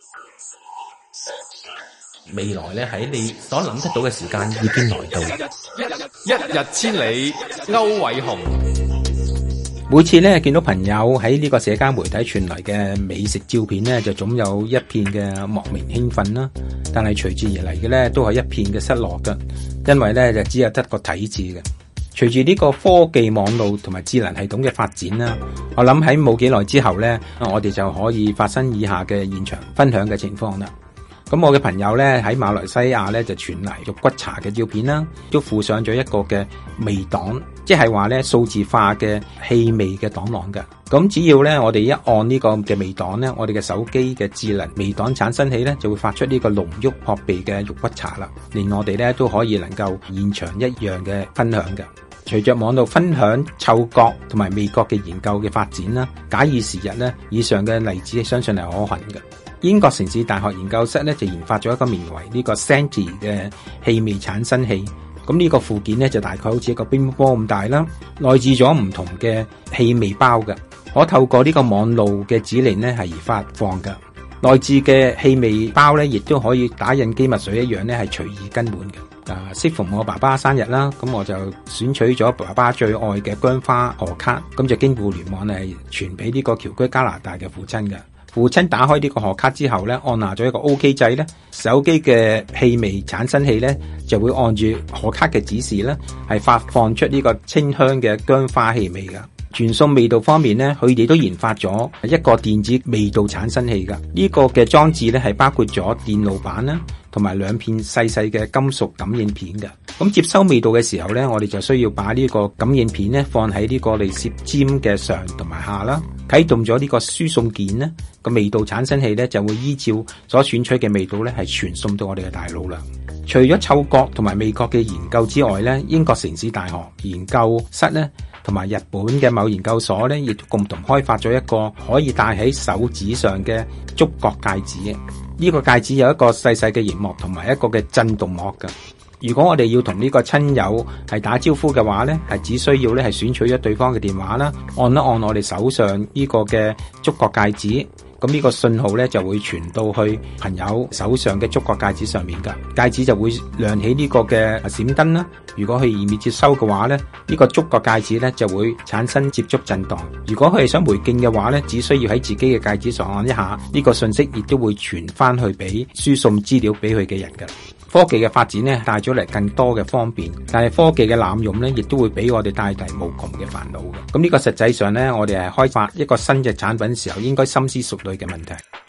未來咧喺你所諗得到嘅時間已經來到， 一日千里，歐偉雄。 每次咧見到朋友喺呢個社交媒體傳嚟嘅美食照片咧，就總有一片嘅莫名興奮啦。但係隨住而嚟嘅咧，都係一片嘅失落㗎，因為咧就只有得個睇字嘅。隨住呢個科技網絡同埋智能系統嘅發展啦，我諗喺冇幾耐之後咧，我哋就可以發生以下嘅現場分享嘅情況啦。咁我嘅朋友咧喺馬來西亞咧就傳嚟肉骨茶嘅照片啦，都附上咗一個嘅味檔，即係話咧數字化嘅氣味嘅檔案㗎。咁只要咧我哋一按呢個嘅味檔咧，我哋嘅手機嘅智能味檔產生器咧就會發出呢個濃郁撲鼻嘅肉骨茶啦，令我哋咧都可以能夠現場一樣嘅分享嘅。隨着網絡分享嗅覺同埋味覺嘅研究嘅發展啦，假以時日咧，以上嘅例子相信係可行嘅。英國城市大學研究室咧就研發咗一個名為呢個 Senti 嘅氣味產生器。咁呢個附件咧就大概好似一個乒乓波咁大啦，內置咗唔同嘅氣味包嘅，可透過呢個網路嘅指令咧係而發放嘅。內置嘅氣味包咧亦都可以打印機墨水一樣咧係隨意更換嘅。適逢我爸爸生日啦，咁我就選取咗爸爸最愛嘅薑花賀卡，咁就經互聯網係傳俾呢個僑居加拿大嘅父親嘅。父親打開呢個賀卡之後咧，按下咗一個 OK 掣咧，手機嘅氣味產生器咧就會按住賀卡嘅指示咧，係發放出呢個清香嘅薑花氣味㗎。傳送味道方面咧，佢哋都研發咗一個電子味道產生器㗎。呢個嘅裝置咧係包括咗電路板啦，同埋兩片細細嘅金屬感應片嘅。咁接收味道嘅時候咧，我哋就需要把呢個感應片咧放喺呢個嚟攝尖嘅上同埋下啦。啟動咗呢個輸送鍵咧，個味道產生器咧就會依照所選取嘅味道咧係傳送到我哋嘅大腦啦。除咗嗅覺同埋味覺嘅研究之外咧，英國城市大學研究室咧同埋日本嘅某研究所咧，亦都共同開發咗一個可以戴喺手指上嘅觸覺戒指。呢個戒指有一個細細嘅螢幕同埋一個嘅震動膜㗎。如果我哋要同呢個親友係打招呼嘅話咧，係只需要咧係選取咗對方嘅電話啦，按一按我哋手上呢個嘅觸覺戒指，咁呢個信號咧就會傳到去朋友手上嘅觸覺戒指上面㗎，戒指就會亮起呢個嘅閃燈啦。如果佢意免接收嘅話咧，呢個觸覺戒指咧就會產生接觸震盪。如果佢係想回敬嘅話咧，只需要喺自己嘅戒指上按一下，呢個信息亦都會傳翻去俾輸送資料俾佢嘅人㗎。科技嘅發展咧帶咗嚟更多嘅方便，但係科技嘅濫用咧亦都會俾我哋帶嚟無窮嘅煩惱嘅。咁呢個實際上咧，我哋係開發一個新嘅產品時候應該深思熟慮嘅問題。